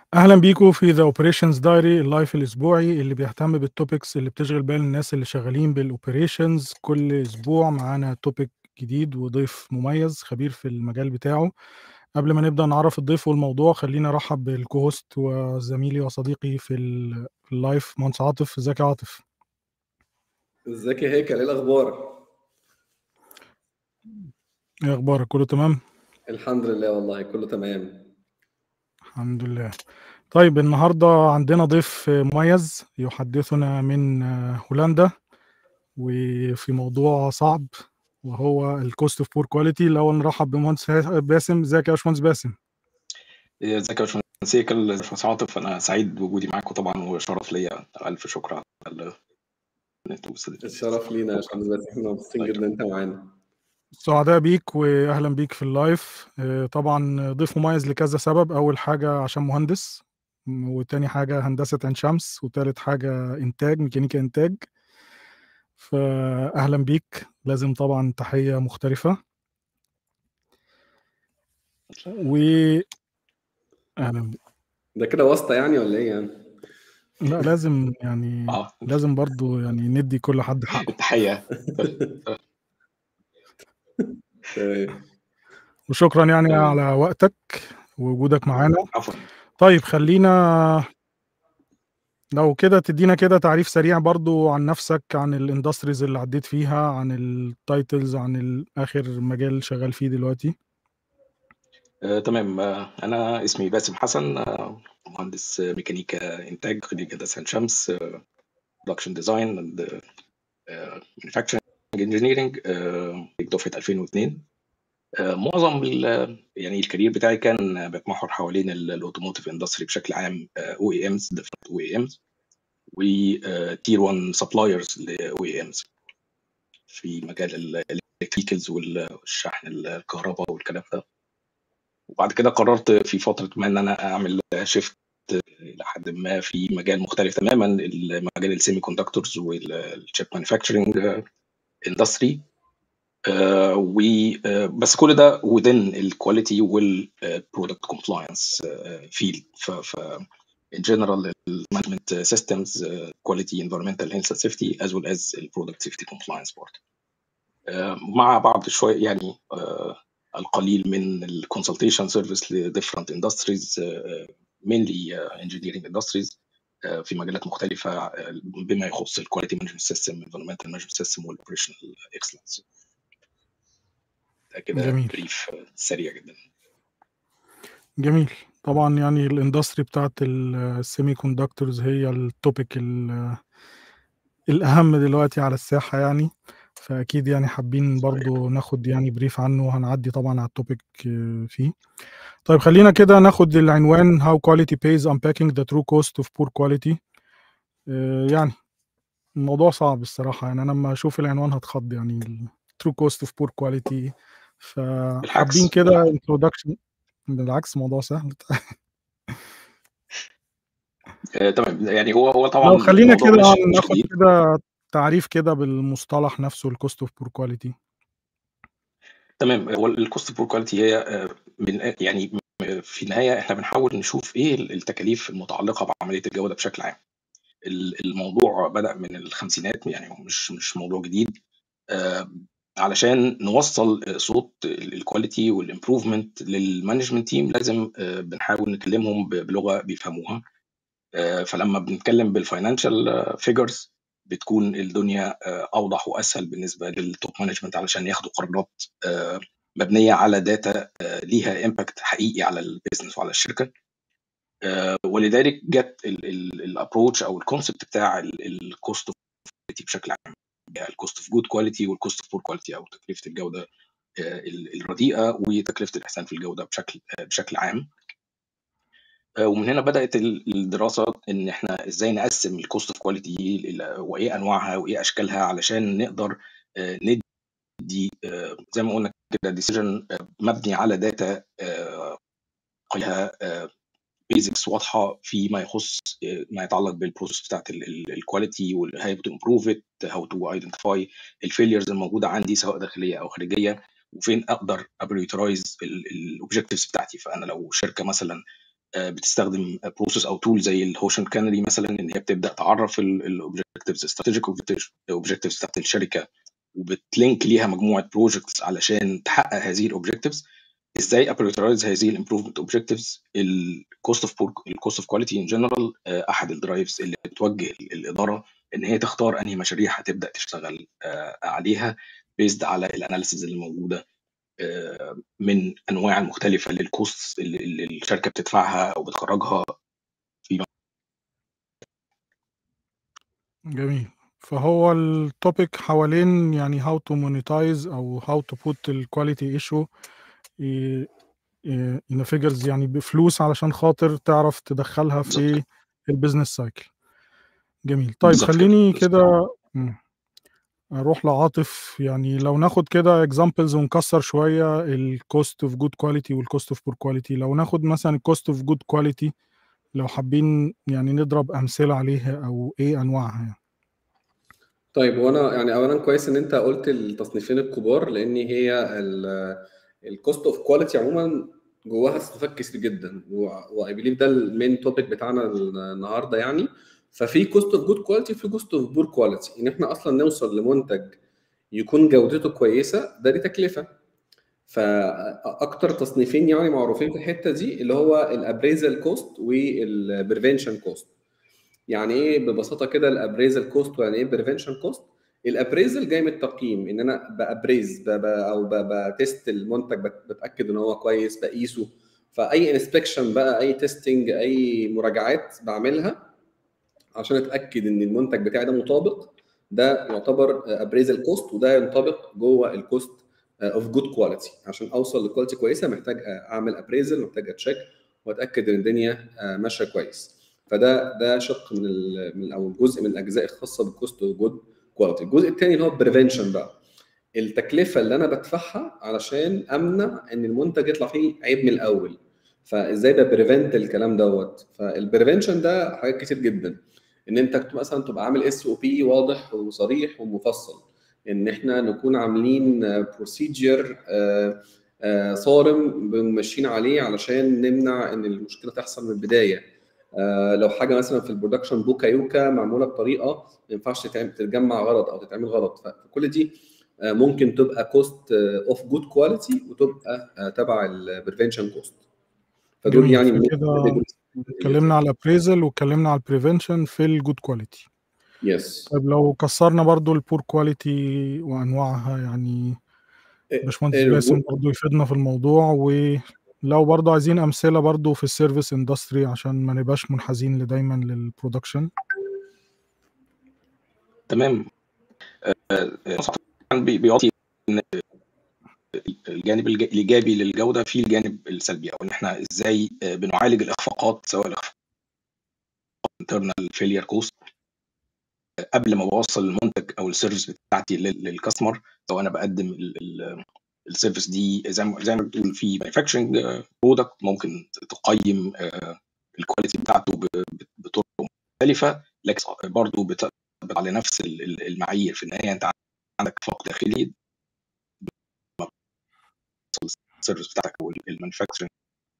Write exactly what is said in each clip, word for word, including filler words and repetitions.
اهلا بيكم في ذا اوبريشنز دايري اللايف الاسبوعي اللي بيهتم بالتوبكس اللي بتشغل بال الناس اللي شغالين بالاوبريشنز. كل اسبوع معانا توبيك جديد وضيف مميز خبير في المجال بتاعه. قبل ما نبدا نعرف الضيف والموضوع، خلينا ارحب بالكوهوست وزميلي وصديقي في ال- في اللايف مهندس عاطف. ازيك يا عاطف؟ ازيك يا هيكل، ايه الاخبار؟ ايه اخبارك؟ كله تمام؟ الحمد لله والله كله تمام. الحمد لله. طيب النهارده عندنا ضيف مميز يحدثنا من هولندا وفي موضوع صعب، وهو الكوست اوف بور كواليتي. الاول نرحب بمهندس باسم. ازيك يا باشمهندس باسم؟ ازيك يا باشمهندس هيكل، باشمهندس عاطف، انا سعيد بوجودي معاكم طبعا، وشرف ليا. الف شكر على ال- ان انتوا وصلت- الشرف لينا يا باشمهندس باسم، احنا مبسوطين الله جدا يكرمك. انت معانا. سعداء بيك واهلا بيك في اللايف. آه، طبعا ضيف مميز لكذا سبب. اول حاجه عشان مهندس، وتاني حاجه هندسه عين شمس، وتالت حاجه انتاج ميكانيكا انتاج. فاهلا بيك. لازم طبعا تحيه مختلفه. و اهلا بيك. ده كده واسطة يعني ولا ايه يعني؟ لا لازم يعني، اه لازم برضو يعني ندي كل حد حقه. التحيه. تمام. وشكرا يعني تمام. على وقتك ووجودك معانا. عفوا. طيب خلينا لو كده تدينا كده تعريف سريع برضو عن نفسك، عن الاندستريز اللي عديت فيها، عن التايتلز، عن ال- اخر مجال شغال فيه دلوقتي. آه، تمام. آه، انا اسمي باسم حسن، آه، مهندس ميكانيكا انتاج، خريج هندسه عين شمس، برودكشن ديزاين اند مانيفاكتشرنج انجينيرنج، دفعه ألفين واثنين. آه، معظم ال- يعني الكارير بتاعي كان بيتمحور حوالين الاوتوموتيف اندستري بشكل عام، او اي امز، ديفرنت او اي امز، وتير واحد سبلايرز لاو اي امز في مجال الالكتريكالز والشحن الكهرباء والكلام ده. وبعد كده قررت في فتره ما ان انا اعمل شيفت الى حد ما في مجال مختلف تماما، مجال السيمي كوندكتورز والشيب مانيفاكتشرنج اندستري. وبس كل ده within الكواليتي والبرودكت كومبلاينس فيلد. ف in general management systems, uh, quality, environmental health and safety, as well as the product safety compliance board. Uh, مع بعض شوية يعني uh, القليل من ال consultation service ل different industries, uh, mainly uh, engineering industries, uh, في مجالات مختلفة uh, بما يخص ال quality management system, environmental management system وال operational excellence. ده كده جميل بريف سريع جدا. جميل. طبعا يعني الاندستري بتاعت السيمي كوندكتورز هي التوبيك ال- الاهم دلوقتي على الساحة يعني. فاكيد يعني حابين صحيح. برضو ناخد يعني بريف عنه، وهنعدي طبعا على التوبيك آه، فيه. طيب خلينا كده ناخد العنوان How Quality Pays Unpacking the True Cost of Poor Quality. آه، يعني الموضوع صعب الصراحة، يعني أنا لما أشوف العنوان هتخض يعني ال True Cost of Poor Quality. فحابين بالعكس كده بالعكس introduction. بالعكس موضوع سهل. آه، تمام. يعني هو هو طبعا لو خلينا الموضوع كده مش مش ناخد جديد. كده تعريف كده بالمصطلح نفسه ال Cost of Poor Quality. تمام. هو الكوست بور كواليتي هي آه، من يعني م- في النهايه احنا بنحاول نشوف ايه التكاليف المتعلقه بعمليه الجوده بشكل عام. ال- الموضوع بدأ من الخمسينات، يعني هو مش مش موضوع جديد. آه، علشان نوصل آه، صوت الكواليتي والامبروفمنت للمانجمنت تيم، لازم آه، بنحاول نكلمهم ب- بلغه بيفهموها. آه، فلما بنتكلم بالفاينانشال فيجرز بتكون الدنيا آه، اوضح واسهل بالنسبه للتوب مانجمنت، علشان ياخدوا قرارات آه، مبنيه على داتا ليها امباكت حقيقي على البيزنس وعلى الشركه. آه، ولذلك جت الابروتش او الكونسبت بتاع الكوست اوف كواليتي بشكل عام، الكوست اوف جود كواليتي والكوست اوف بور كواليتي، او تكلفه الجوده آه، الرديئه وتكلفه الاحسان في الجوده بشكل آه، بشكل عام. آه، ومن هنا بدات ال- الدراسه ان احنا ازاي نقسم الكوست اوف كواليتي وايه انواعها وايه اشكالها، علشان نقدر آه، ندي آه، زي ما قلنا كده ديسيجن مبني على داتا فيها بيزكس واضحه فيما يخص آه، ما يتعلق بالبروسيس بتاعت الكواليتي، وهاو تو امبروف ات، هاو تو ايدنتيفاي الفيليرز الموجوده عندي سواء داخليه او خارجيه، وفين اقدر ابريوترايز الاوبجكتيفز بتاعتي. فانا لو شركه مثلا بتستخدم بروسيس او تول زي الهوشن كانري مثلا، ان هي بتبدا تعرف الاوبجكتيفز استراتيجيك اوبجكتيفز بتاعت الشركه، وبتلينك ليها مجموعه بروجكتس علشان تحقق هذه الاوبجكتيفز. ازاي ابريورايز هذه الامبروفمنت اوبجكتيفز؟ الكوست اوف الكوست اوف كواليتي ان جنرال احد الدرايفز اللي بتوجه الاداره ان هي تختار انهي مشاريع هتبدا تشتغل عليها بيزد على الاناليسيز اللي موجوده من انواع المختلفه للكوست اللي الشركه بتدفعها او بتخرجها في. جميل. فهو التوبيك حوالين يعني how to monetize او how to put ال quality issue in figures، يعني بفلوس علشان خاطر تعرف تدخلها في البيزنس سايكل. جميل. طيب خليني كده اروح لعاطف، يعني لو ناخد كده examples ونكسر شويه الكوست اوف جود كواليتي والكوست اوف بور كواليتي. لو ناخد مثلا الكوست اوف جود كواليتي، لو حابين يعني نضرب امثله عليها او ايه انواعها يعني. طيب وانا يعني اولا كويس ان انت قلت التصنيفين الكبار، لان هي الكوست اوف كواليتي عموما جواها تصنيفات كتير جدا، واي بليف ده المين توبيك بتاعنا النهارده يعني. ففي كوست اوف جود كواليتي وفي كوست اوف بور كواليتي. ان احنا اصلا نوصل لمنتج يكون جودته كويسه، ده دي تكلفه. فاكتر تصنيفين يعني معروفين في الحته دي اللي هو الابريزال كوست والبريفنشن كوست. يعني ايه ببساطه كده الابريزال كوست ويعني ايه بريفنشن كوست؟ الابريزال جاي من التقييم، ان انا بابريز او بتست المنتج، بتاكد ان هو كويس، بقيسه. فاي انسبكشن بقى، اي تيستنج، اي مراجعات بعملها عشان اتاكد ان المنتج بتاعي ده مطابق، ده يعتبر ابريزال كوست، وده ينطبق جوه الكوست اوف جود كواليتي. عشان اوصل لكواليتي كويسه محتاج اعمل ابريزل، محتاج اتشيك واتاكد ان الدنيا ماشيه كويس. فده ده شق من من او جزء من الاجزاء الخاصه بالكوست اوف جود كواليتي. الجزء الثاني اللي هو البريفنشن بقى، التكلفه اللي انا بدفعها علشان امنع ان المنتج يطلع فيه عيب من الاول. فازاي ده بريفنت الكلام دوت؟ فالبريفنشن ده حاجات كتير جدا. ان انت مثلا تبقى عامل اس او بي واضح وصريح ومفصل، ان احنا نكون عاملين بروسيجر صارم ماشيين عليه علشان نمنع ان المشكله تحصل من البدايه. لو حاجه مثلا في البرودكشن بوكا يوكا معموله بطريقه ما ينفعش تتجمع غلط او تتعمل غلط. فكل دي ممكن تبقى كوست اوف جود كواليتي وتبقى تبع البريفنشن كوست. فدول يعني كده اتكلمنا على الابريزل واتكلمنا على البريفنشن في الجود كواليتي. يس. طيب لو كسرنا برضو البور كواليتي وانواعها، يعني باشمهندس باسم برضو يفيدنا في الموضوع. ولو برضو عايزين امثله برضو في السيرفيس اندستري عشان ما نبقاش منحازين دايما للبرودكشن. تمام. بيعطي الجانب الايجابي للجوده في الجانب السلبي، او ان احنا ازاي بنعالج الاخفاقات، سواء الاخفاقات internal failure cost قبل ما بوصل المنتج او السيرفيس بتاعتي للكاستمر. لو انا بقدم السيرفيس دي زي ما زي ما بتقول في مانيفاكتشرنج برودكت، ممكن تقيم الكواليتي بتاعته بطرق مختلفه، لكن برضه بتطبق على نفس المعايير. في النهايه انت عندك اخفاق داخلي، السيرفيس بتاعتك او المانيفاكتشرنج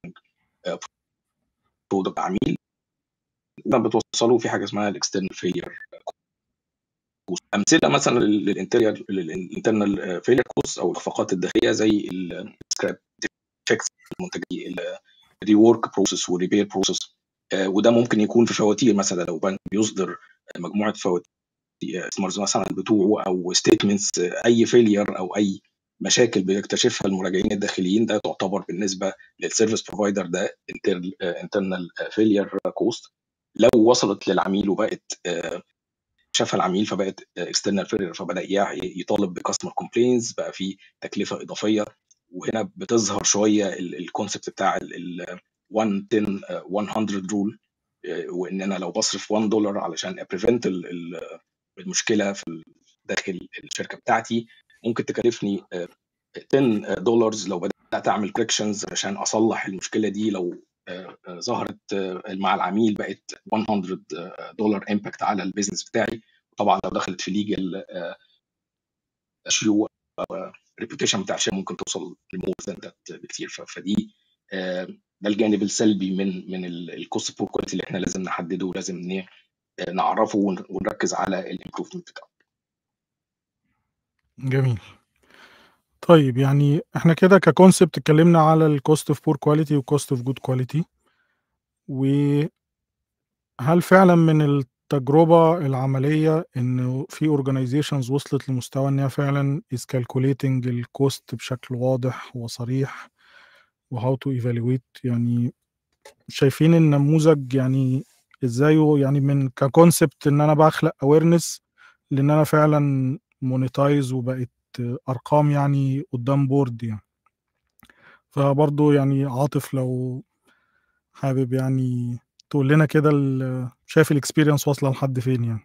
برودكت عميل بتوصله في حاجه اسمها الاكسترنال فيلير. امثله مثلا للانتيريال الانترنال فيلير كوست او الاخفاقات الداخليه زي السكراب ديفكتس المنتجين، الريورك بروسيس والريبير بروسيس. وده ممكن يكون في فواتير مثلا، لو بنك بيصدر مجموعه فواتير مثلا بتوعه او ستيتمنتس، اي فيلير او اي مشاكل بيكتشفها المراجعين الداخليين، ده تعتبر بالنسبه للسيرفيس بروفايدر ده انترنال فيلير كوست. لو وصلت للعميل وبقت شافها العميل فبقت اكسترنال فيلير، فبدا يطالب بكاستمر كومبلينز، بقى في تكلفه اضافيه. وهنا بتظهر شويه الكونسبت بتاع ال مية عشرة رول، وان انا لو بصرف واحد دولار علشان ابريفنت المشكله في داخل الشركه بتاعتي، ممكن تكلفني عشرة دولار لو بدات اعمل كوركشنز عشان اصلح المشكله دي. لو ظهرت مع العميل بقت مية دولار امباكت على البيزنس بتاعي. طبعا لو دخلت في ليجل ريبيوتيشن بتاع الشركه ممكن توصل لمور ذان ذات بكتير. فدي ده الجانب السلبي من من الكوست بور كواليتي اللي احنا لازم نحدده ولازم نعرفه ونركز على الامبروفمنت بتاعه. جميل. طيب يعني احنا كده ككونسبت اتكلمنا على الكوست اوف بور كواليتي وكوست اوف جود كواليتي، وهل فعلا من التجربة العملية انه في اورجانيزيشنز وصلت لمستوى انها فعلا is calculating الكوست بشكل واضح وصريح وهاو تو ايفالويت؟ يعني شايفين النموذج يعني ازاي يعني من ككونسبت ان انا بخلق اويرنس لان انا فعلا مونيتايز وبقت ارقام يعني قدام بورد يعني. فبرضه يعني عاطف لو حابب يعني تقول لنا كده شايف الاكسبيرينس واصله لحد فين يعني.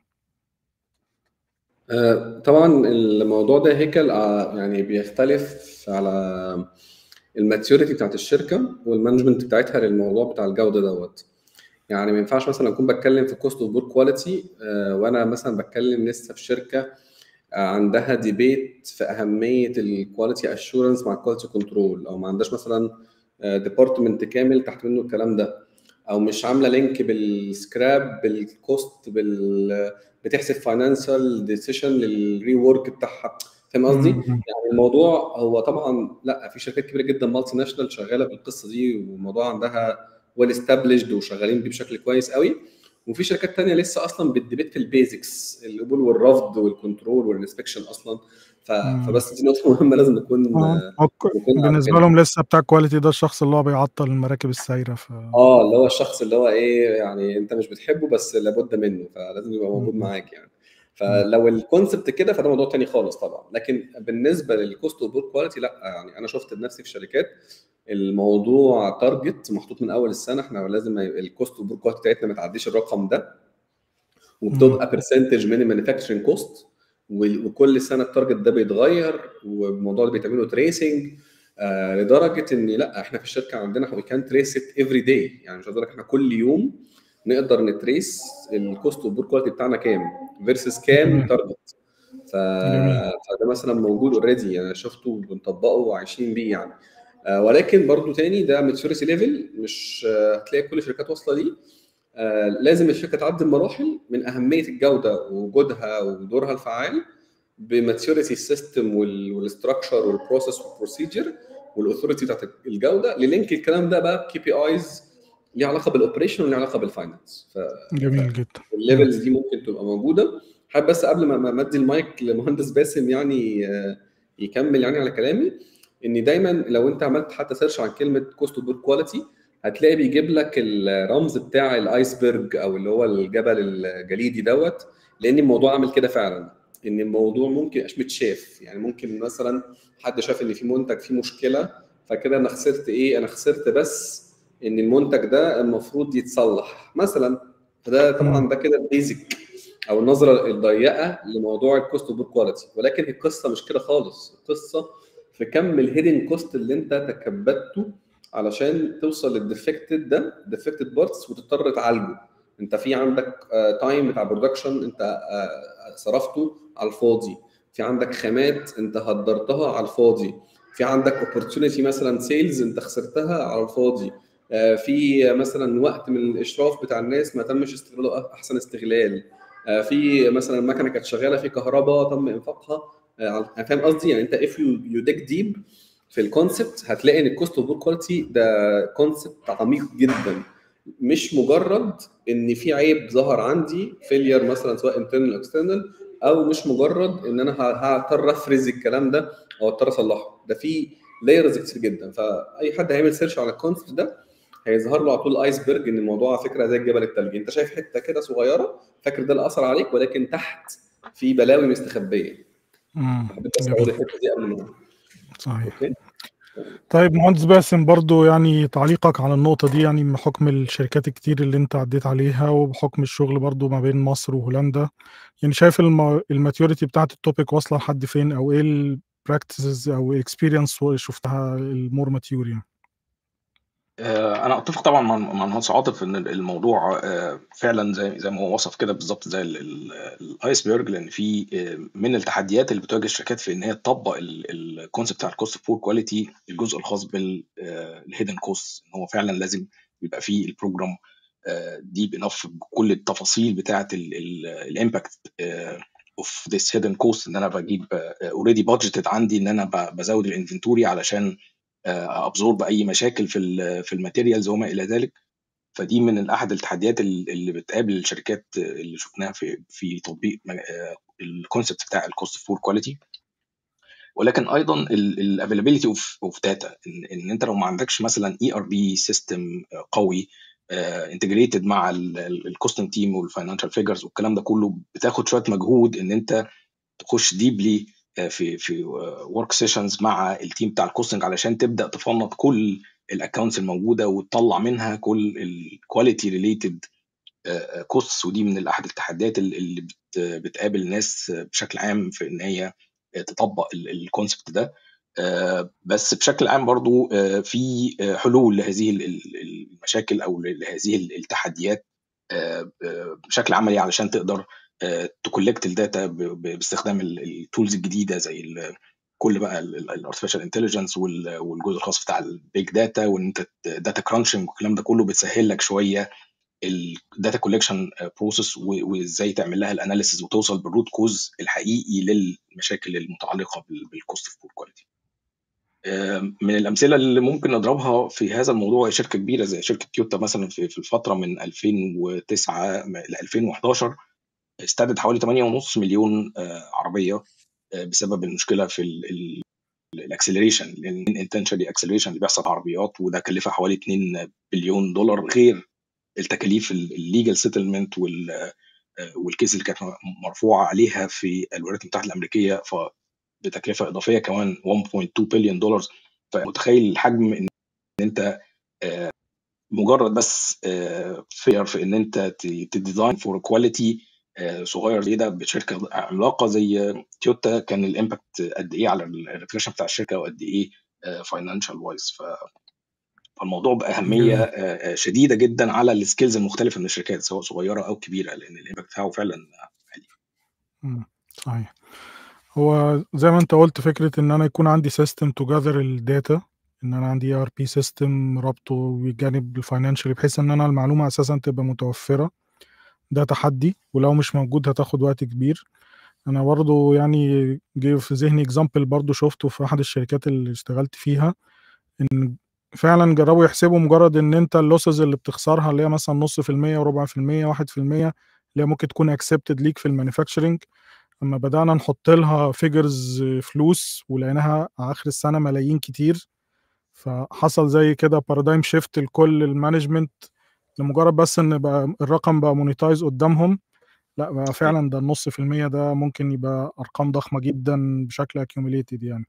آه، طبعا الموضوع ده هيكل آه، يعني بيختلف على الماتيوريتي بتاعت الشركه والمانجمنت بتاعتها للموضوع بتاع الجوده دوت. يعني ما ينفعش مثلا اكون بتكلم في كوست اوف بور كواليتي وانا مثلا بتكلم لسه في شركه آه، عندها ديبيت في اهميه الكواليتي اشورنس مع الكواليتي كنترول، او ما عندهاش مثلا ديبارتمنت كامل تحت منه الكلام ده، او مش عامله لينك بالسكراب بالكوست بال بتحسب فاينانشال ديسيشن للري ورك بتاعها. فاهم قصدي؟ مم. يعني الموضوع هو طبعا لا، في شركات كبيره جدا مالتي ناشونال شغاله بالقصه دي والموضوع عندها ويل استابليشد وشغالين بيه بشكل كويس قوي، وفي شركات تانية لسه اصلا بتديبيت في البيزكس القبول والرفض والكنترول والانسبكشن اصلا. ف... مم. فبس دي نقطه مهمه لازم نكون اه أوك- نكون بالنسبه عارفينها. لهم لسه بتاع الكواليتي ده الشخص اللي هو بيعطل المراكب السايره. ف اه اللي هو الشخص اللي هو ايه، يعني انت مش بتحبه بس لابد منه فلازم يبقى موجود مم. معاك يعني. مم. فلو الكونسبت كده فده موضوع تاني خالص طبعا، لكن بالنسبه للكوست اوف بور كواليتي لا، يعني انا شفت بنفسي في شركات الموضوع تارجت محطوط من اول السنه، احنا لازم الكوست اوف بور كواليتي بتاعتنا ما تعديش الرقم ده، مم. وبتبقى برسنتج من المانيفاكتشرنج كوست، وكل سنه التارجت ده بيتغير والموضوع ده بيتعمله تريسنج آه لدرجه ان لا احنا في الشركه عندنا وي كان تريس ات افري داي. يعني مش هقول لك احنا كل يوم نقدر نتريس الكوست اوف بور كواليتي بتاعنا كام فيرسس كام جميل تارجت. ف... جميل. فده مثلا موجود اوريدي، يعني شفته وبنطبقه وعايشين بيه يعني. آه ولكن برضو تاني ده ماتيوريتي ليفل، مش آه هتلاقي كل الشركات واصله ليه. آه لازم الشركه تعدي المراحل من اهميه الجوده ووجودها ودورها الفعال بماتيوريتي السيستم والاستراكشر والبروسيس والبروسيجر والاثوريتي بتاعت الجوده، للينك الكلام ده بقى كي بي ايز ليه علاقه بالاوبريشن وليه علاقه بالفاينانس. ف جميل جدا. مم. الليفلز دي ممكن تبقى موجوده. حابب بس قبل ما ما ادي المايك لمهندس باسم يعني آه، يكمل يعني على كلامي، ان دايما لو انت عملت حتى سيرش عن كلمه كوست اوف بور كواليتي هتلاقي بيجيب لك الرمز بتاع الايسبرج او اللي هو الجبل الجليدي دوت، لان الموضوع عامل كده فعلا، ان الموضوع ممكن يبقاش متشاف. يعني ممكن مثلا حد شاف ان في منتج فيه مشكله فكده انا خسرت ايه، انا خسرت بس ان المنتج ده المفروض يتصلح مثلا. فده طبعا مم. ده كده البيزك او النظره الضيقه لموضوع الكوست اوف كواليتي، ولكن القصه مش كده خالص. القصه في كم الهيدن كوست اللي انت تكبدته علشان توصل للديفكتد ده ديفكتد بارتس وتضطر تعالجه. انت في عندك تايم بتاع برودكشن انت آه، صرفته على الفاضي، في عندك خامات انت هدرتها على الفاضي، في عندك اوبورتونيتي مثلا سيلز انت خسرتها على الفاضي، آه، في مثلا وقت من الاشراف بتاع الناس ما تمش استغلاله احسن استغلال، آه، في مثلا مكنه كانت شغاله في كهرباء تم انفاقها. آه، على- فاهم قصدي؟ يعني انت اف يو يو ديك ديب في الكونسبت هتلاقي ان الكوست اوف كواليتي ده كونسبت عميق جدا، مش مجرد ان في عيب ظهر عندي فيلير مثلا سواء انترنال او اكسترنال، او مش مجرد ان انا ه- هضطر افرز الكلام ده او اضطر اصلحه. ده في لايرز كتير جدا، فاي حد هيعمل سيرش على الكونسبت ده هيظهر له على طول ايسبرج ان الموضوع على فكره زي الجبل الثلجي، انت شايف حته كده صغيره فاكر ده اللي اثر عليك، ولكن تحت في بلاوي مستخبيه. مم. حبيت بس اقول جميل الحته دي قبل ما صحيح. اوكي. طيب مهندس باسم برضو يعني تعليقك على النقطة دي، يعني بحكم الشركات الكتير اللي انت عديت عليها وبحكم الشغل برضو ما بين مصر وهولندا، يعني شايف الم... الماتيوريتي بتاعت التوبيك واصلة لحد فين، او ايه البراكتسز او الاكسبيرينس شفتها المور ماتيور يعني؟ آه، انا اتفق طبعا مع مع المهندس عاطف ان الموضوع آه، فعلا زي زي ما هو وصف كده بالظبط زي الايسبرج، لان في آه، من التحديات اللي بتواجه الشركات في ان هي تطبق الكونسيبت بتاع الكوست بور كواليتي، الجزء الخاص بالهيدن كوست، ان هو فعلا لازم يبقى فيه البروجرام ديب انف بكل التفاصيل بتاعه الامباكت اوف ذس هيدن كوست، ان انا بجيب اوريدي بادجيتد عندي ان انا ب- بزود الانفنتوري علشان ابزورب اي مشاكل في ال في الماتيريالز وما الى ذلك. فدي من احد التحديات ال- اللي بتقابل الشركات اللي شفناها في في تطبيق الكونسبت بتاع الكوست فور كواليتي. ولكن ايضا الافيلابيلتي اوف اوف داتا، ان انت لو ما عندكش مثلا اي ار بي سيستم قوي انتجريتد مع الكوستنج تيم والفاينانشال فيجرز والكلام ده كله، بتاخد شويه مجهود ان انت تخش ديبلي في في ورك سيشنز مع التيم بتاع الكوستنج علشان تبدا تفنط كل الاكونتس الموجوده وتطلع منها كل الكواليتي ريليتد كوستس. ودي من احد التحديات اللي بت- بتقابل الناس بشكل عام في ان هي تطبق الكونسبت ده. آه، بس بشكل عام برضو آه، في آه، حلول لهذه ال- ال- المشاكل او لهذه التحديات آه، آه، بشكل عملي علشان تقدر تكولكت الداتا باستخدام التولز الجديده زي ال- كل بقى الارتفيشال انتليجنس والجزء الخاص بتاع البيج داتا، وان انت داتا كرانشنج والكلام ده كله بتسهل لك شويه الداتا كولكشن بروسيس، وازاي تعمل لها الاناليسيز وتوصل بالروت كوز الحقيقي للمشاكل المتعلقه بالكوست اوف بور كواليتي. من الامثله اللي ممكن نضربها في هذا الموضوع شركه كبيره زي شركه تويوتا مثلا، في في الفتره من ألفين وتسعة ل ألفين وحداشر استعدت حوالي ثمانية ونص مليون آه، عربيه آه، بسبب المشكله في الاكسلريشن، الانتنشالي اكسلريشن اللي بيحصل في العربيات، وده كلفها حوالي اتنين بليون دولار، غير التكاليف الليجل سيتلمنت والكيس اللي كانت مرفوعه عليها في الولايات المتحده الامريكيه بتكلفه اضافيه كمان واحد فاصلة اتنين بليون دولار. فمتخيل الحجم ان انت آه، مجرد بس فير في ان انت تديزاين فور كواليتي صغير زي ده بشركه عملاقه زي تويوتا، كان الامباكت قد ايه على الريبيوتيشن بتاع الشركه وقد ايه فاينانشال وايز. فالموضوع باهميه جميل. آه، آه، شديده جدا على السكيلز المختلفه من الشركات سواء صغيره او كبيره، لان الامباكت بتاعه فعلا عالي. مم. صحيح. هو زي ما انت قلت، فكرة ان انا يكون عندي سيستم تو جاذر الداتا، ان انا عندي ار بي سيستم ربطه بجانب الفاينانشال بحيث ان انا المعلومة اساسا تبقى متوفرة، ده تحدي، ولو مش موجود هتاخد وقت كبير. انا برضو يعني جه في ذهني اكزامبل برضو شفته في احد الشركات اللي اشتغلت فيها، ان فعلا جربوا يحسبوا مجرد ان انت اللوسز اللي بتخسرها اللي هي مثلا نص في المية وربع في المية واحد في المية اللي هي ممكن تكون اكسبتد ليك في المانيفاكتشرنج، اما بدأنا نحط لها فيجرز فلوس ولقيناها على اخر السنة ملايين كتير. فحصل زي كده بارادايم شيفت لكل المانجمنت، لمجرد بس ان بقى الرقم بقى مونيتايز قدامهم. لا بقى فعلا ده النص في المية ده ممكن يبقى ارقام ضخمة جدا بشكل accumulated يعني.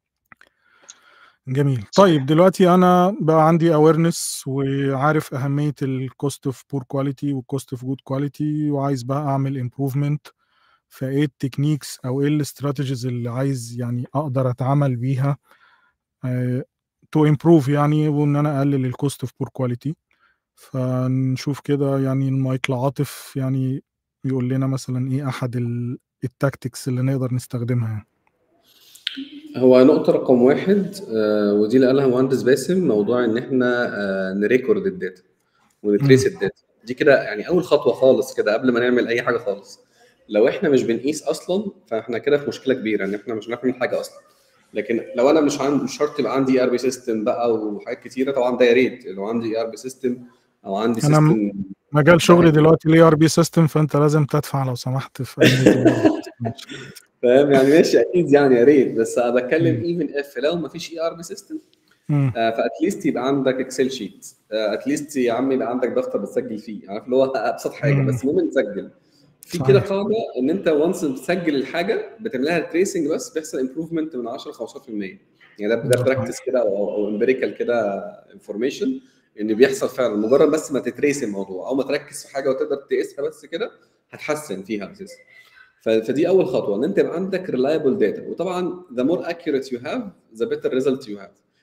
جميل. صحيح. طيب دلوقتي انا بقى عندي awareness وعارف اهمية الكوست اوف بور كواليتي والكوست اوف جود كواليتي، وعايز بقى اعمل improvement. فايه التكنيكس او ايه الاستراتيجيز اللي عايز يعني اقدر اتعامل بيها تو امبروف يعني، وان انا اقلل الكوست اوف بور كواليتي. فنشوف كده يعني المايكل عاطف يعني يقول لنا مثلا ايه احد التاكتكس اللي نقدر نستخدمها. هو نقطة رقم واحد آه، ودي اللي قالها مهندس باسم، موضوع ان احنا آه، نريكورد الداتا ونتريس الداتا. دي كده يعني اول خطوة خالص كده قبل ما نعمل اي حاجة خالص. لو احنا مش بنقيس اصلا فاحنا كده في مشكلة كبيرة، ان احنا مش بنعمل حاجة اصلا. لكن لو انا مش عندي مش شرط يبقى عندي ار بي سيستم بقى وحاجات كتيرة، طبعا ده يا ريت لو عندي ار بي سيستم او عندي انا م- سيستم. مجال شغلي دلوقتي ليه ار بي سيستم، فانت لازم تدفع لو سمحت في اهمية الار بي سيستم. فاهم يعني؟ ماشي اكيد يعني يا ريت، بس انا بتكلم ايفن اف لو ما فيش اي ار بي سيستم، فاتليست يبقى عندك اكسل شيت، اتليست يا عم يبقى عندك دفتر بتسجل فيه، عارف اللي هو ابسط حاجه، بس المهم نسجل في كده قاعده ان انت وانس بتسجل الحاجه بتعملها تريسنج بس بيحصل امبروفمنت من عشرة ل خمستاشر في المية. يعني ده ده براكتس كده او امبيريكال كده انفورميشن ان بيحصل فعلا. مجرد بس ما تتريس الموضوع او ما تركز في حاجه وتقدر تقيسها بس كده هتحسن فيها اساسا. فدي اول خطوه، ان انت يبقى عندك reliable data. وطبعا the more accurate you have the better result you have.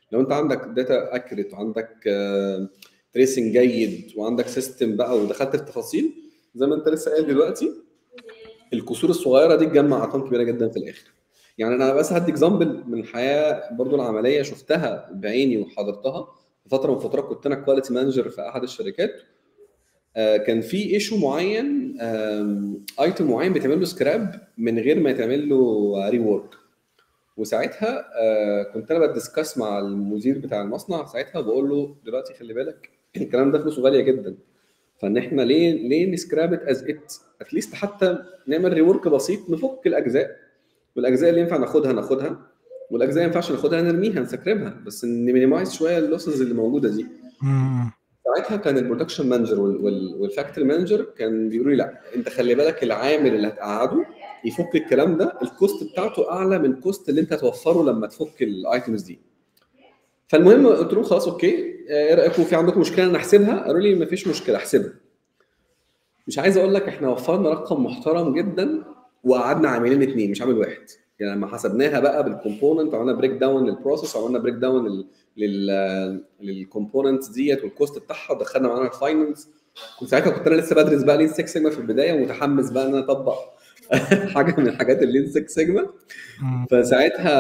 لو انت عندك داتا اكيوريت وعندك تريسنج جيد وعندك سيستم بقى ودخلت في التفاصيل زي ما انت لسه قايل دلوقتي، الكسور الصغيره دي تجمع ارقام كبيره جدا في الاخر. يعني انا بس هدي اكزامبل من الحياه برضو العمليه شفتها بعيني وحضرتها. في فتره من الفترات كنت انا كواليتي مانجر في احد الشركات، آه كان في ايشو معين، ايتم معين بيتعمل له سكراب من غير ما يتعمل له ري وورك. وساعتها آه كنت انا بدسكاس مع المدير بتاع المصنع ساعتها، بقول له دلوقتي خلي بالك الكلام ده فلوسه غاليه جدا، فان احنا ليه ليه نسكراب ات از ات اتليست، حتى نعمل ريورك بسيط نفك الاجزاء، والاجزاء اللي ينفع ناخدها ناخدها، والاجزاء اللي ما ينفعش ناخدها نرميها نسكربها، بس نمينيمايز شويه اللوسز اللي موجوده دي. مم. ساعتها كان البرودكشن مانجر والفاكتوري مانجر كان بيقولوا لي لا انت خلي بالك العامل اللي هتقعده يفك الكلام ده الكوست بتاعته اعلى من الكوست اللي انت هتوفره لما تفك الايتمز دي. فالمهم قلت لهم خلاص اوكي، ايه رايكم في عندكم مشكله نحسبها؟ قالوا لي مفيش مشكله احسبها. مش عايز اقول لك احنا وفرنا رقم محترم جدا وقعدنا عاملين اثنين مش عامل واحد. يعني لما حسبناها بقى بالكومبوننت وعملنا بريك داون للبروسيس وعملنا بريك داون لل للكومبوننتس ديت والكوست بتاعها ودخلنا معانا الفاينلز. كنت ساعتها كنت انا لسه بدرس بقى لين سيكس سيجما في البدايه ومتحمس بقى ان انا اطبق حاجه من الحاجات اللين سيكس سيجما. فساعتها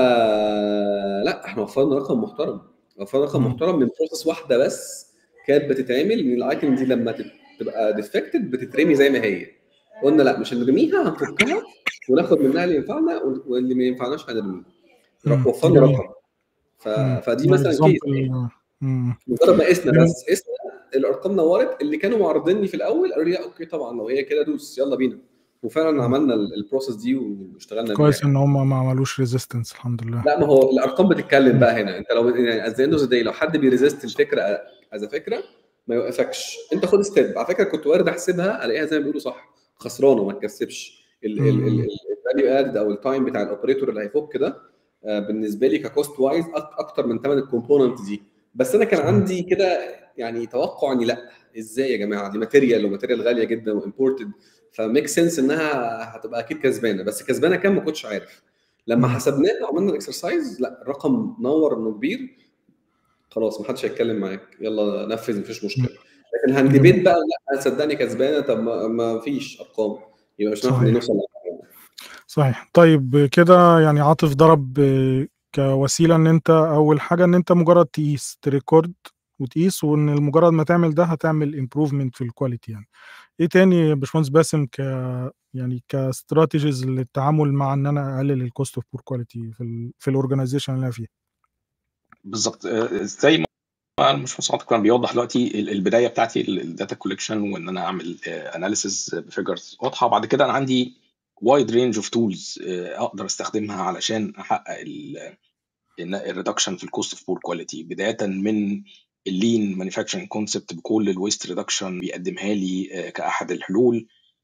لا احنا وفرنا رقم محترم، وفرنا رقم محترم من بروسيس واحده بس كانت بتتعمل من الايتم دي لما تبقى ديفكتد بتترمي زي ما هي. قلنا لا مش هنرميها، هنفكها وناخد منها اللي ينفعنا واللي ما ينفعناش هنرميه. وفرنا رقم. ف... فدي مثلا كيس مجرد ما قسنا بس قسنا الارقام نورت. اللي كانوا معرضيني في الاول قالوا لي لا اوكي طبعا لو هي كده دوس يلا بينا، وفعلا عملنا البروسيس دي واشتغلنا بيها. كويس ان هم ما عملوش ريزيستنس الحمد لله. لا ما هو الارقام بتتكلم بقى هنا. انت لو يعني از اند اوف ذا داي لو حد بيريزيست الفكره از فكره ما يوقفكش، انت خد ستيب. على فكره كنت وارد احسبها الاقيها زي ما بيقولوا صح خسرانه ما تكسبش الفاليو اد او التايم بتاع الاوبريتور اللي هيفك ده بالنسبه لي ككوست وايز اكتر من ثمن الكومبوننت دي. بس انا كان عندي كده يعني توقع اني لا ازاي يا جماعه دي ماتيريال وماتيريال غاليه جدا وامبورتد، فميك سنس انها هتبقى اكيد كسبانه. بس كسبانه كام ما كنتش عارف. لما حسبناها وعملنا الاكسرسايز لا الرقم نور انه كبير، خلاص ما حدش هيتكلم معاك يلا نفذ مفيش مشكله. لكن هندبيت بقى لا صدقني كسبانه طب ما فيش ارقام يبقى مش هنعرف نوصل. صحيح. طيب كده يعني عاطف ضرب كوسيله ان انت اول حاجه ان انت مجرد تقيس تريكورد وتقيس، وان مجرد ما تعمل ده هتعمل امبروفمنت في الكواليتي. يعني ايه تاني يا باشمهندس باسم ك يعني كاستراتيجيز للتعامل مع ان انا اقلل الكوست اوف بور كواليتي في ال في الاورجنايزيشن اللي انا فيها؟ بالظبط زي ما مش مصعب كان بيوضح دلوقتي البدايه بتاعتي الداتا كولكشن وان انا اعمل اناليسيس بفيجرز واضحه. بعد كده انا عندي وايد رينج اوف تولز اقدر استخدمها علشان احقق الريدكشن في الكوست اوف بور كواليتي، بدايه من اللين مانيفاكتشرنج كونسبت بكل الويست ريدكشن بيقدمها لي كاحد الحلول،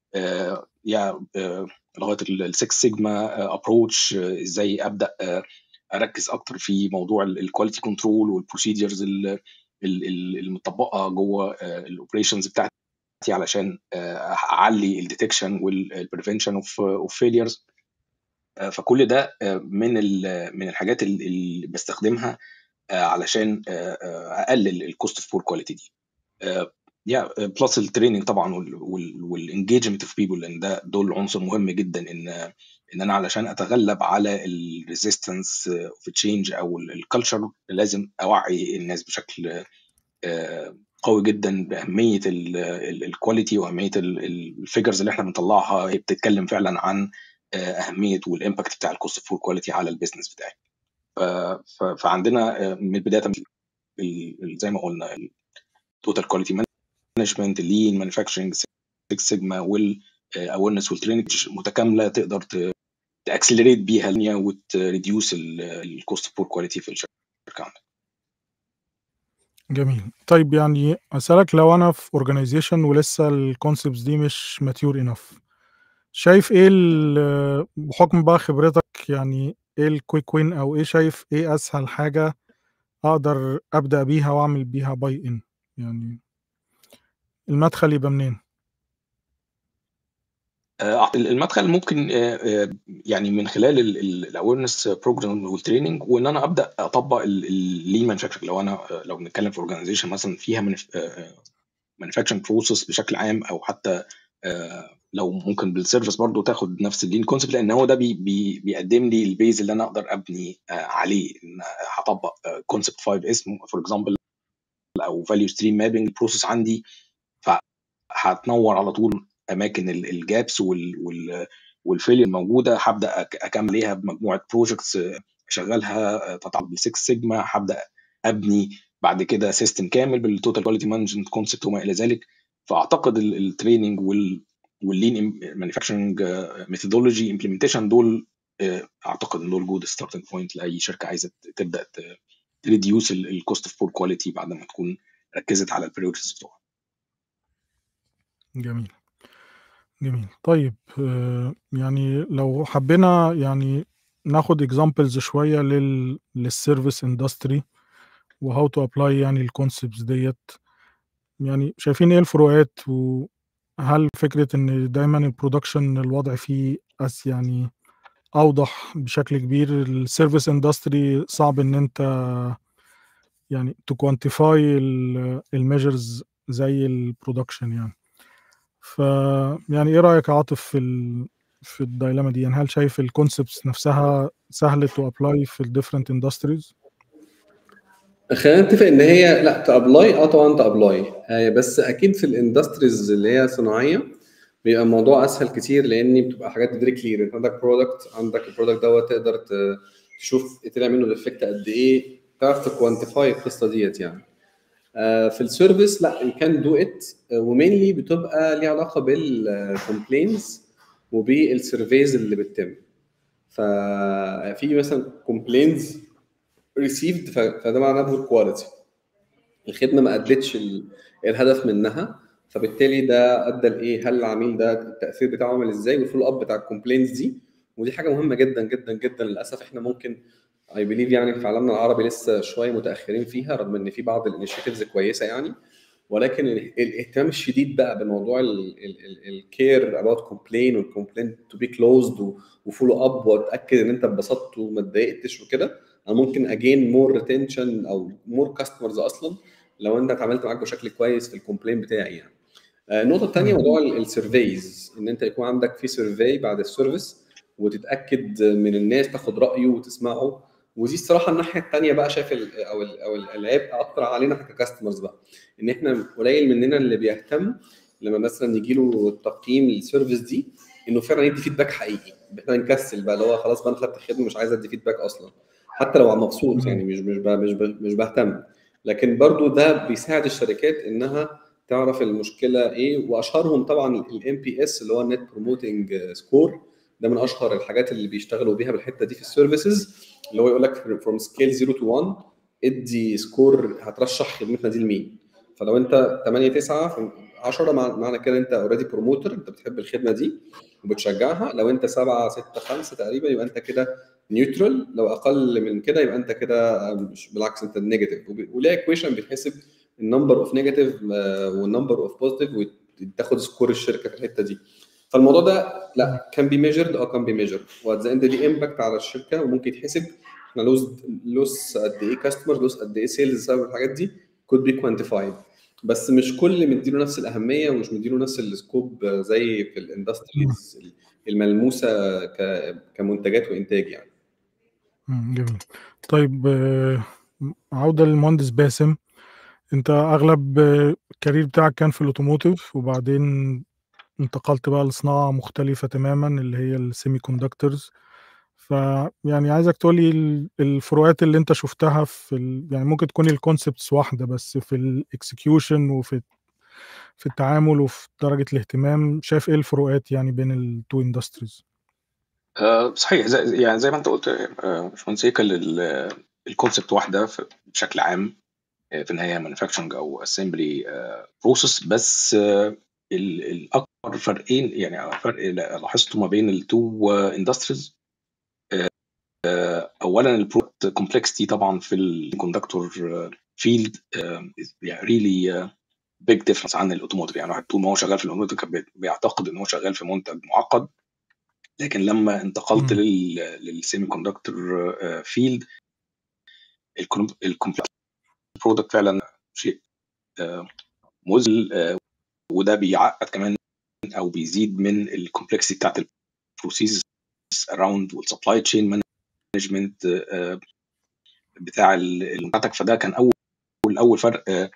يا لغايه السكس سيجما ابروتش ازاي ابدا اركز اكتر في موضوع الكواليتي كنترول والبروسيدرز المطبقه جوه الاوبريشنز بتاعتي علشان اعلي الديتكشن والبريفنشن اوف فيليرز. فكل ده من من الحاجات اللي بستخدمها علشان اقلل الكوست اوف بور كواليتي دي. يا بلس التريننج طبعا والانجيجمنت اوف بيبل، لان ده دول عنصر مهم جدا ان ان انا علشان اتغلب على الريزيستنس اوف تشينج او الكالتشر لازم اوعي الناس بشكل قوي جدا باهميه الكواليتي واهميه الفيجرز اللي احنا بنطلعها. هي بتتكلم فعلا عن اهميه والامباكت بتاع الكوست اوف بور كواليتي على البيزنس بتاعي. فعندنا من البدايه زي ما قلنا التوتال كواليتي مانجمنت، اللين مانيفاكتشرنج، سكس سيجما والاويرنس والتريننج متكامله تقدر تاكسلريت بيها الدنيا وتريديوس الكوست بور كواليتي في الشركه عندك. جميل. طيب يعني اسالك لو انا في اورجانيزيشن ولسه الكونسبتس دي مش ماتيور انف، شايف ايه بحكم بقى خبرتك يعني ايه الكويك وين او ايه شايف ايه اسهل حاجه اقدر ابدا بيها واعمل بيها باي ان؟ يعني المدخل يبقى منين؟ آه، المدخل ممكن آه، آه، يعني من خلال الاويرنس بروجرام والتريننج، وان انا ابدا اطبق اللين مانيفاكتشرنج. لو انا آه، لو بنتكلم في اورجانيزيشن مثلا فيها مانيفاكتشرنج بروسيس بشكل عام، او حتى آه، لو ممكن بالسيرفيس برضو تاخد نفس اللين كونسبت، لان هو ده بي بي بيقدم لي البيز اللي انا اقدر ابني آه، عليه. ان هطبق كونسبت خمسة اسمه فور اكزامبل، او فاليو ستريم مابنج بروسيس عندي، فهتنور على طول اماكن الجابس والفيلير الموجوده. هبدا اكمل عليها بمجموعه بروجكتس اشغلها تتعلق بالسكس سيجما. هبدا ابني بعد كده سيستم كامل بالتوتال كواليتي مانجمنت كونسبت وما الى ذلك. فاعتقد التريننج واللين مانيفاكتشرنج ميثودولوجي امبلمنتيشن دول آه، اعتقد ان دول جود ستارتنج بوينت لاي شركه عايزه تبدا تريديوس الكوست اوف بور كواليتي بعد ما تكون ركزت على البريورتيز بتوعها. جميل جميل. طيب آه، يعني لو حبينا يعني ناخد اكزامبلز شويه لل للسيرفيس اندستري وهاو تو ابلاي يعني الكونسبتس ديت، يعني شايفين ايه الفروقات؟ وهل فكره ان دايما البرودكشن الوضع فيه أس يعني اوضح بشكل كبير؟ السيرفيس اندستري صعب ان انت يعني تو كوانتيفاي الميجرز زي البرودكشن يعني. ف يعني ايه رايك يا عاطف في ال في الدايلاما دي؟ يعني هل شايف الكونسبتس نفسها سهله تو ابلاي في الديفرنت اندستريز؟ خلينا نتفق ان هي لا تابلاي، اه طبعا تابلاي، آه بس اكيد في الاندستريز اللي هي صناعيه بيبقى الموضوع اسهل كتير، لان بتبقى حاجات فيري كلير. انت عندك برودكت، عندك البرودكت دوت تقدر ت- تشوف طلع منه الافكت قد ايه، تعرف تكوانتيفاي القصه ديت يعني. آه في السيرفيس لا، يو كان دو ات، ومينلي بتبقى ليها علاقه بالكومبلينز وبالسيرفيز اللي بتتم. ففي مثلا كومبلينز ريسيفد، فده معناه بور كواليتي، الخدمه ما ادتش ال- الهدف منها، فبالتالي ده ادى لايه؟ هل العميل ده التاثير بتاعه عامل ازاي، والفولو اب بتاع الكومبلينز دي. ودي حاجه مهمه جدا جدا جدا. للاسف احنا ممكن اي بليف يعني في عالمنا العربي لسه شويه متاخرين فيها، رغم ان في بعض الانيشيتيفز كويسه يعني، ولكن ال- الاهتمام الشديد بقى بموضوع الكير اباوت كومبلين والكومبلين تو بي كلوزد وفولو اب، واتاكد ان انت اتبسطت وما اتضايقتش وكده. انا ممكن اجين مور ريتنشن او مور كاستمرز اصلا لو انت اتعاملت معاك بشكل كويس في الكومبلين بتاعي يعني. آه، النقطه الثانيه مم. موضوع السيرفيز، ان انت يكون عندك في سيرفي بعد السيرفيس وتتاكد من الناس، تاخد رايه وتسمعه. ودي الصراحه الناحيه الثانيه بقى شايف ال او ال او العبء اكتر علينا احنا ككاستمرز بقى، ان احنا قليل مننا اللي بيهتم لما مثلا يجي له تقييم السيرفيس دي انه فعلا يدي فيدباك حقيقي. احنا نكسل بقى اللي هو خلاص بقى انا خدت الخدمه مش عايز ادي فيدباك اصلا، حتى لو مبسوط يعني، مم. مش مش ب- مش ب- مش بهتم. لكن برضو ده بيساعد الشركات انها تعرف المشكله ايه، واشهرهم طبعا الام بي اس اللي هو النت بروموتنج سكور. ده من اشهر الحاجات اللي بيشتغلوا بيها بالحته دي في السيرفيسز، اللي هو يقول لك فروم سكيل صفر تو واحد ادي سكور هترشح خدمتنا دي لمين. فلو انت ثمانية تسعة عشرة معنى كده انت اوريدي بروموتر، انت بتحب الخدمه دي وبتشجعها. لو انت سبعة ستة خمسة تقريبا يبقى انت كده نيوترال. لو اقل من كده يبقى انت كده مش، بالعكس انت نيجاتيف. وليها ايكويشن بتحسب النمبر اوف نيجاتيف والنمبر اوف بوزيتيف، وتاخد سكور الشركه في الحته دي. فالموضوع ده لا كان بي ميجرد، اه كان بي ميجرد، وات ذا اند ليه امباكت على الشركه، وممكن يتحسب احنا لوز لوس قد ايه كاستمر، لوس قد ايه سيلز بسبب الحاجات دي، كود بي كوانتيفايد. بس مش كل مديله نفس الاهميه ومش مديله نفس السكوب زي في مم. الاندستريز الملموسه ك- كمنتجات وانتاج يعني. مم. جميل. طيب آه، عودة للمهندس باسم، انت اغلب آه، الكارير بتاعك كان في الاوتوموتيف، وبعدين انتقلت بقى لصناعة مختلفة تماما اللي هي السيمي كوندكتورز. فيعني عايزك تقولي ال- الفروقات اللي انت شفتها في ال... يعني ممكن تكون الكونسبتس واحدة، بس في الاكسكيوشن وفي في التعامل وفي درجة الاهتمام، شايف ايه الفروقات يعني بين التو اندستريز؟ آه، صحيح، زي يعني زي ما انت قلت آه، باشمهندس هيكل، الكونسبت واحده في- بشكل عام آه، في النهايه مانيفاكتشرنج او اسمبلي بروسيس. بس آه، ال- الاكبر فرقين، يعني فرق لاحظته ما بين التو اندستريز. اولا البرودكت كومبلكسيتي طبعا في الكوندكتور فيلد يعني ريلي بيج ديفرنس عن الاوتوموتيف. يعني واحد طول ما هو شغال في الاوتوموتيف كان بيعتقد ان هو شغال في منتج معقد، لكن لما انتقلت مم. للسيمي كوندكتور فيلد الكومبلكس برودكت فعلا شيء مذهل، وده بيعقد كمان او بيزيد من الكومبلكسيتي بتاعت البروسيس اراوند والسبلاي تشين مانجمنت بتاع المنتج. فده كان اول اول فرق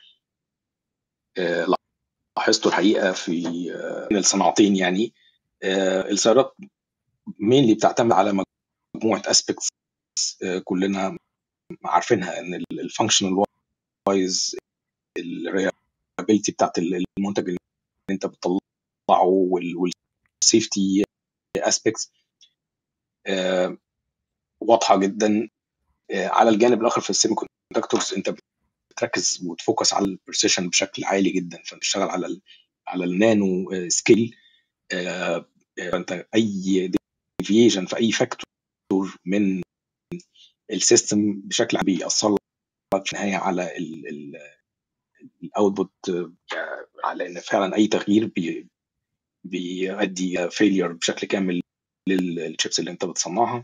لاحظته الحقيقه في الصناعتين. يعني السيارات مين بتعتمد على مجموعه اسبيكتس كلنا عارفينها، ان الفانكشنال وايز، الريابيلتي بتاعت المنتج اللي انت بتطلعه، والسيفتي اسبيكتس واضحه جدا. على الجانب الاخر في السيمي كوندكتورز انت بتركز وتفوكس على البريسيشن بشكل عالي جدا، فبتشتغل على ال على النانو سكيل. فانت اي ديفيشن في اي فاكتور من السيستم بشكل عام بيأثر لك في النهايه على الاوتبوت، على ان فعلا اي تغيير بي بيؤدي فيلير بشكل كامل للشيبس اللي انت بتصنعها.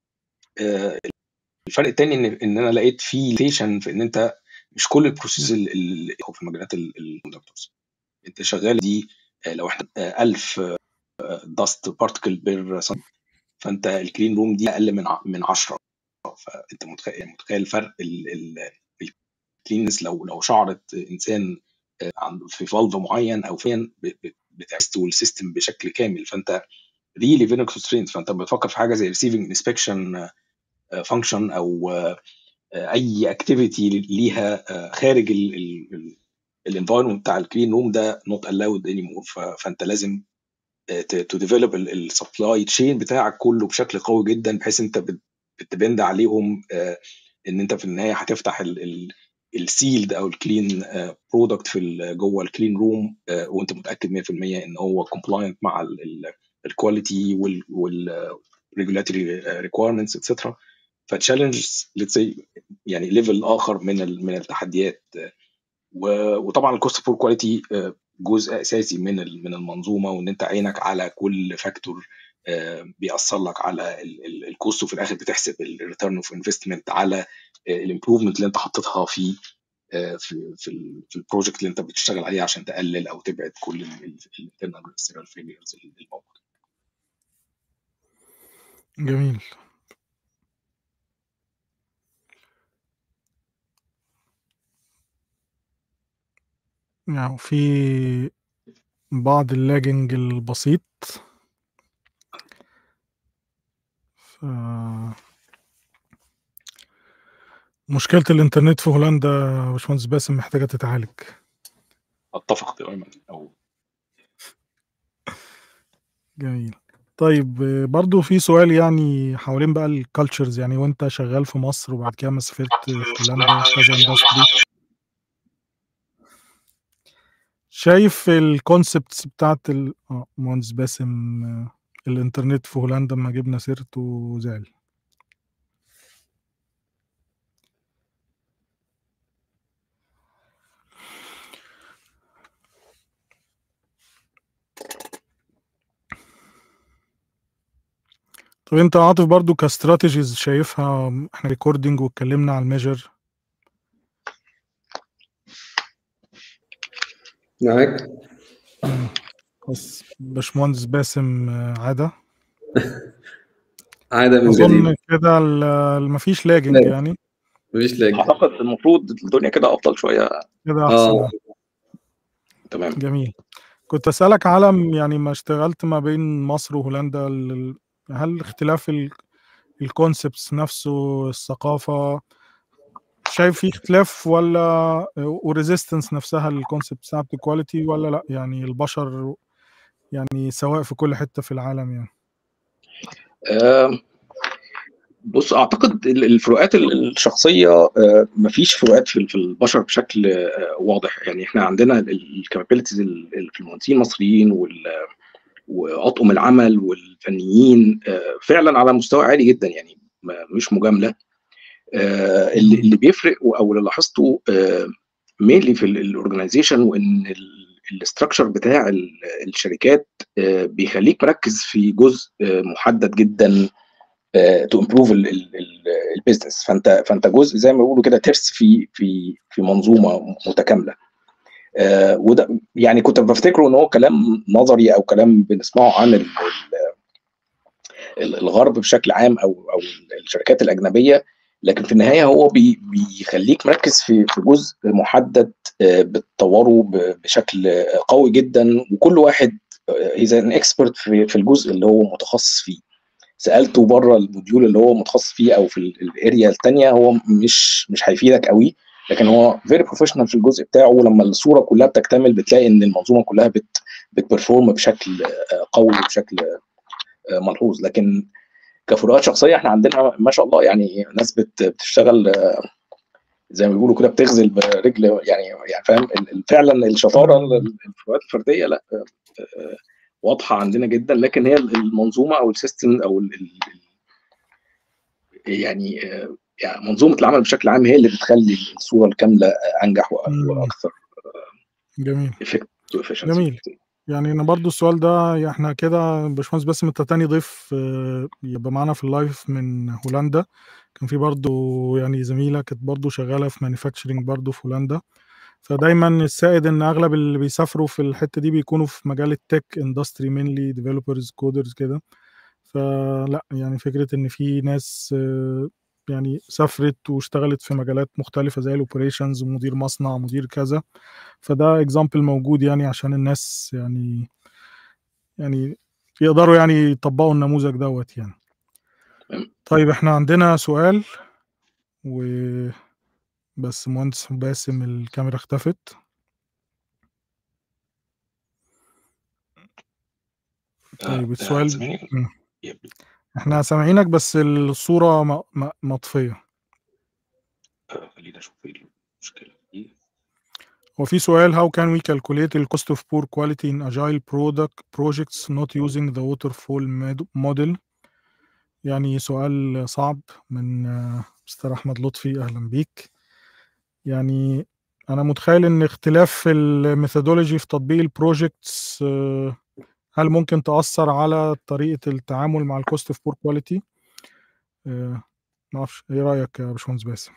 الفرق الثاني ان ان انا لقيت في ليميتيشن في ان انت مش كل البروسيس اللي في مجالات الكوندكتورز انت شغال دي لو احنا ألف داست بارتكل بير سنت، فانت الكلين روم دي اقل من من عشرة. فانت متخيل متخيل فرق الكلينس لو لو شعرت انسان في فالف معين او فين بتستول السيستم بشكل كامل. فانت ريلي فيري كونسترينت، فانت بتفكر في حاجه زي ريسيفنج انسبكشن فانكشن او اي اكتيفيتي ليها خارج الانفايرمنت بتاع الكلين روم ده نوت الاود اني مور. فانت لازم تو ديفلوب السبلاي تشين بتاعك كله بشكل قوي جدا، بحيث انت بتبند عليهم ان انت في النهايه هتفتح السيلد او الكلين برودكت في جوه الكلين روم وانت متاكد مية في المية ان هو كومبلاينت مع الكواليتي والريجولاتوري ريكويرمنتس اتسترا. فتشالنجز ليتس سي يعني ليفل اخر من من التحديات. وطبعا الكوست فور كواليتي جزء اساسي من من المنظومه، وان انت عينك على كل فاكتور بيأثر لك على الكوست، وفي الاخر بتحسب الريتيرن اوف انفستمنت على الامبروفمنت اللي انت حطيتها في في في, في البروجكت اللي انت بتشتغل عليه عشان تقلل او تبعد كل الانترنال والسيريال فيليرز الموجوده. جميل. يعني في بعض اللاجنج البسيط. ف... مشكلة الإنترنت في هولندا يا باشمهندس باسم محتاجة تتعالج. أتفق تماما. أو جميل. طيب برضو في سؤال يعني حوالين بقى الكالتشرز، يعني وانت شغال في مصر وبعد كده ما سافرت هولندا كذا اندستري، شايف الكونسبتس بتاعت ال... اه مهندس باسم الانترنت في هولندا ما جبنا سيرته زعل. طب انت عاطف برضو كاستراتيجيز شايفها، احنا ريكوردنج واتكلمنا على الميجر. معاك. بس باشمهندس باسم عادة عادة من اظن جديد كده مفيش لاجنج لا. يعني. مفيش لاج. اعتقد المفروض الدنيا كده افضل شويه كده احسن. اه تمام. جميل. كنت اسالك على يعني ما اشتغلت ما بين مصر وهولندا، ال- هل اختلاف الكونسبتس نفسه، الثقافه، شايف في اختلاف ولا وريزيستنس نفسها للكونسبت بتاعت الكواليتي ولا لا؟ يعني البشر يعني سواء في كل حته في العالم يعني. آه بص، اعتقد الفروقات الشخصيه آه مفيش فروقات في البشر بشكل آه واضح. يعني احنا عندنا الكابابيلتيز في المهندسين المصريين واطقم العمل والفنيين آه فعلا على مستوى عالي جدا، يعني مش مجامله. آه اللي, اللي بيفرق او اللي لاحظته آه مينلي في الاورجنايزيشن، وان الاستراكشر بتاع الشركات بيخليك مركز في جزء محدد جدا تو امبروف البيزنس. فانت فانت جزء زي ما بيقولوا كده ترس في في في منظومه متكامله. آه وده يعني كنت بفتكره ان هو كلام نظري او كلام بنسمعه عن الغرب بشكل عام او او الشركات الاجنبيه، لكن في النهايه هو بي بيخليك مركز في في جزء محدد آه بتطوره بشكل قوي جدا، وكل واحد اذا ان اكسبرت في في الجزء اللي هو متخصص فيه. سالته بره الموديول اللي هو متخصص فيه او في الاريا الثانيه، هو مش مش هيفيدك قوي، لكن هو فيري بروفيشنال في الجزء بتاعه. ولما الصوره كلها بتكتمل بتلاقي ان المنظومه كلها بت بتبرفورم بشكل قوي وبشكل ملحوظ. لكن كفروقات شخصيه احنا عندنا ما شاء الله يعني ناس بتشتغل زي ما بيقولوا كده بتغزل برجل، يعني يعني فاهم فعلا الشطاره الفروقات الفرديه لا واضحه عندنا جدا، لكن هي المنظومه او السيستم او ال يعني يعني منظومه العمل بشكل عام هي اللي بتخلي الصوره الكامله انجح واكثر جميل افكت جميل. يعني انا برضو السؤال ده احنا كده باشمهندس باسم انت تاني ضيف يبقى معانا في اللايف من هولندا. كان في برضو يعني زميله كانت برضو شغاله في مانيفاكتشرنج برضو في هولندا. فدايما السائد ان اغلب اللي بيسافروا في الحته دي بيكونوا في مجال التك اندستري مينلي ديفلوبرز كودرز كده. فلا يعني فكره ان في ناس يعني سافرت واشتغلت في مجالات مختلفه زي الاوبريشنز ومدير مصنع مدير كذا، فده اكزامبل موجود يعني عشان الناس يعني يعني يقدروا يعني يطبقوا النموذج دوت يعني. طيب احنا عندنا سؤال و بس مهندس باسم الكاميرا اختفت. طيب السؤال احنا سامعينك بس الصورة م... م... مطفية. خلينا نشوف ايه المشكلة دي. وفي سؤال how can we calculate the cost of poor quality in agile product projects not using the waterfall model؟ يعني سؤال صعب من مستر أحمد لطفي، أهلا بيك. يعني أنا متخيل إن اختلاف في الميثودولوجي في تطبيق البروجيكتس هل ممكن تأثر على طريقة التعامل مع الكوست اوف بور كواليتي؟ معرفش ايه رأيك يا باشمهندس باسم؟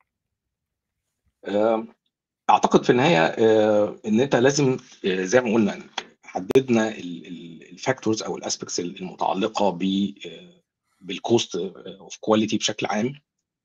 اعتقد في النهايه ان انت لازم زي ما قلنا حددنا الفاكتورز او الاسبكتس المتعلقه ب بالكوست اوف كواليتي بشكل عام.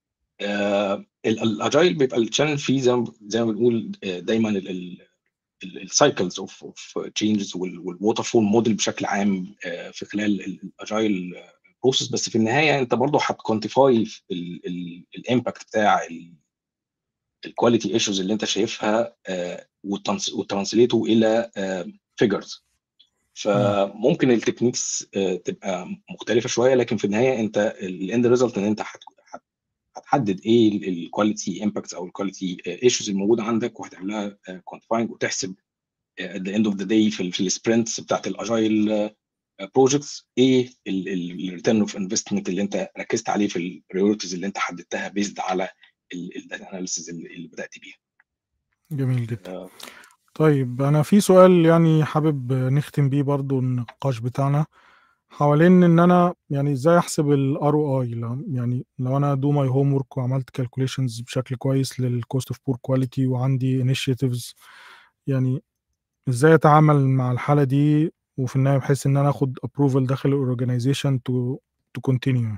الاجايل بيبقى التشالنج فيه زي زي ما بنقول دايما السايكلز اوف اوف تشينجز والووتر فول موديل بشكل عام في خلال الاجايل بروسيس. بس في النهايه انت برضه هتكوانتيفاي الامباكت بتاع الكواليتي ايشوز اللي انت شايفها وترانسليته الى فيجرز. فممكن التكنيكس تبقى مختلفه شويه، لكن في النهايه انت الاند ريزلت ان انت هتحدد ايه الكواليتي امباكتس او الكواليتي ايشوز الموجوده عندك، وهتعملها كوانتيفاينج وتحسب at the end of the day في في السبرنتس بتاعت الاجايل بروجكتس ايه الريتيرن اوف انفستمنت اللي انت ركزت عليه في البريورتيز اللي انت حددتها بيزد على الداتا اناليسيز اللي بدات بيها. جميل جدا. طيب انا في سؤال يعني حابب نختم بيه برضو النقاش بتاعنا حوالين ان انا يعني ازاي احسب الار او اي. يعني لو انا دو ماي هوم ورك وعملت كالكوليشنز بشكل كويس للكوست اوف بور كواليتي وعندي انيشيتيفز، يعني ازاي اتعامل مع الحاله دي وفي النهايه بحيث ان انا اخد ابروفل داخل الاورجانيزيشن تو تو كونتينيو.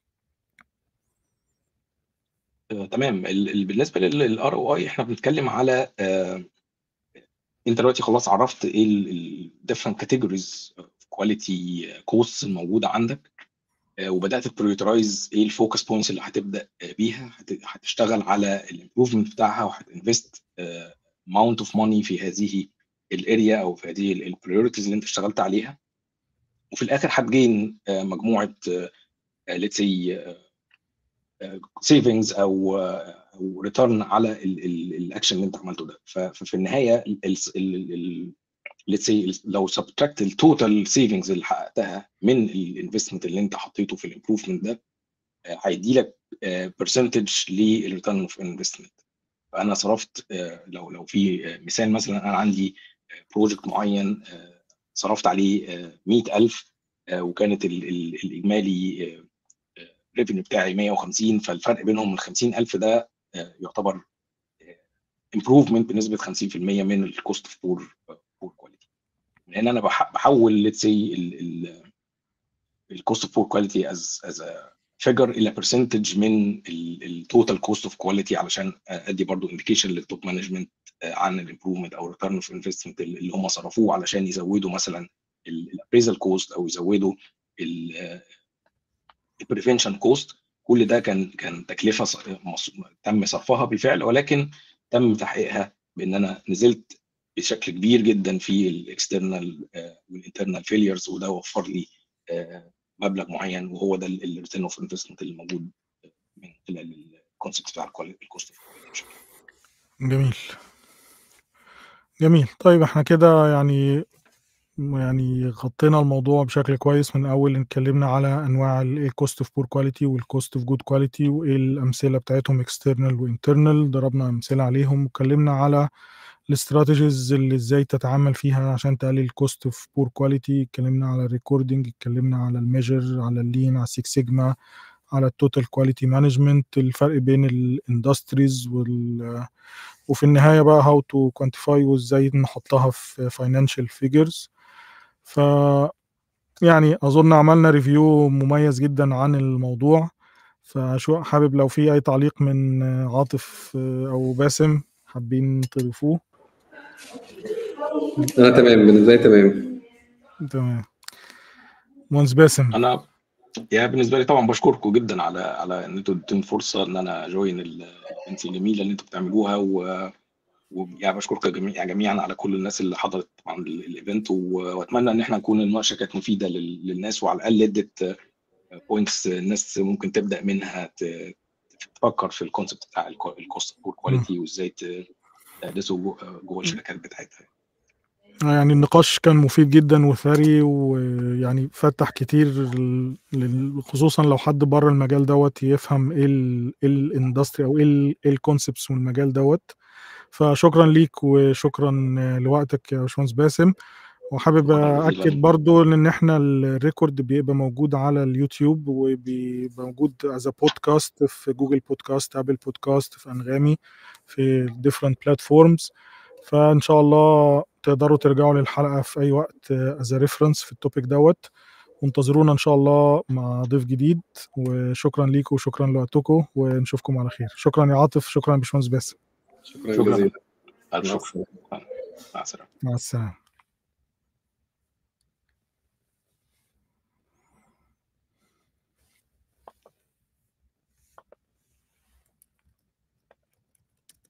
تمام. بالنسبه للار او اي احنا بنتكلم على آه انت دلوقتي خلاص عرفت ايه الديفرنت كاتيجوريز كواليتي كوست الموجوده عندك، آه وبدات تبريورترايز ايه الفوكس بوينتس اللي هتبدا بيها، هتشتغل على الامبروفمنت بتاعها وهتنفست اماونت اوف ماني في هذه الاريا او في هذه البريورتيز اللي انت اشتغلت عليها، وفي الاخر هتجين مجموعه ليتس سي سيفنجز او او ريتيرن على الاكشن اللي انت عملته ده. ففي النهايه ليتس سي لو سبتراكت التوتال سيفنجز اللي حققتها من الانفستمنت اللي انت حطيته في الامبروفمنت ده، هيدي لك برسنتج للريتيرن اوف انفستمنت. فانا صرفت لو لو في مثال مثلا انا عندي بروجكت معين صرفت عليه مئة ألف وكانت الاجمالي ريفينيو بتاعي مئة وخمسين، فالفرق بينهم من خمسين ألف ده يعتبر امبروفمنت بنسبه خمسين في المية من الكوست اوف بور بور كواليتي. لان انا بحول ليتس سي الكوست اوف بور كواليتي از از فيجر الى برسنتج من التوتال كوست اوف كواليتي علشان ادي برضو انديكيشن للتوب مانجمنت عن الامبروفمنت او الريتيرن اوف انفستمنت اللي هم صرفوه علشان يزودوا مثلا الابريزال كوست او يزودوا البريفنشن كوست. كل ده كان كان تكلفه تم صرفها بالفعل، ولكن تم تحقيقها بان انا نزلت بشكل كبير جدا في الاكسترنال والانترنال فيليرز، وده وفر لي مبلغ معين، وهو ده الريتيرن اوف انفستمنت اللي موجود من خلال الكونسبت بتاع الكوست اوف كواليتي. جميل جميل. طيب احنا كده يعني يعني غطينا الموضوع بشكل كويس. من اول اتكلمنا على انواع الكوست اوف بور كواليتي والكوست اوف جود كواليتي وايه الامثله بتاعتهم اكسترنال وانترنال، ضربنا امثله عليهم، واتكلمنا على الاستراتيجيز اللي ازاي تتعامل فيها عشان تقلل الكوست اوف بور كواليتي. اتكلمنا على الريكوردنج، اتكلمنا على الميجر، على اللين، على السيكس سيجما، على التوتال كواليتي مانجمنت، الفرق بين الاندستريز وال وفي النهايه بقى هاو تو كوانتيفاي وازاي نحطها في فاينانشال فيجرز. ف يعني اظن عملنا ريفيو مميز جدا عن الموضوع. فشو حابب لو في اي تعليق من عاطف او باسم حابين تضيفوه؟ انا تمام، بالنسبه لي تمام تمام. مهندس باسم، انا يعني بالنسبه لي طبعا بشكركم جدا على على ان انتوا اديتوني فرصه ان انا جوين الايفنتس الجميله اللي انتوا بتعملوها، و ويعني بشكركم جميعا جميعا على كل الناس اللي حضرت طبعا الايفنت، واتمنى ان احنا نكون المناقشه كانت مفيده للناس، وعلى الاقل ادت بوينتس الناس ممكن تبدا منها تفكر في الكونسبت بتاع الكوست بور كواليتي وازاي تدرسه جوه الشركات بتاعتها. يعني النقاش كان مفيد جدا وثري، ويعني فتح كتير خصوصا لو حد بره المجال دوت يفهم ايه الاندستري او ايه الكونسبتس من المجال دوت. فشكرا ليك وشكرا لوقتك يا باشمهندس باسم. وحابب اكد برضو ان احنا الريكورد بيبقى موجود على اليوتيوب وبيبقى موجود از بودكاست في جوجل بودكاست، ابل بودكاست، في انغامي، في different platforms. فان شاء الله تقدروا ترجعوا للحلقه في اي وقت از ريفرنس في التوبيك دوت. وانتظرونا ان شاء الله مع ضيف جديد. وشكرا ليكم وشكرا لوقتكم ونشوفكم على خير. شكرا يا عاطف، شكرا يا باشمهندس باسم. شكرا جزيلا. مع السلامه. مع السلامه.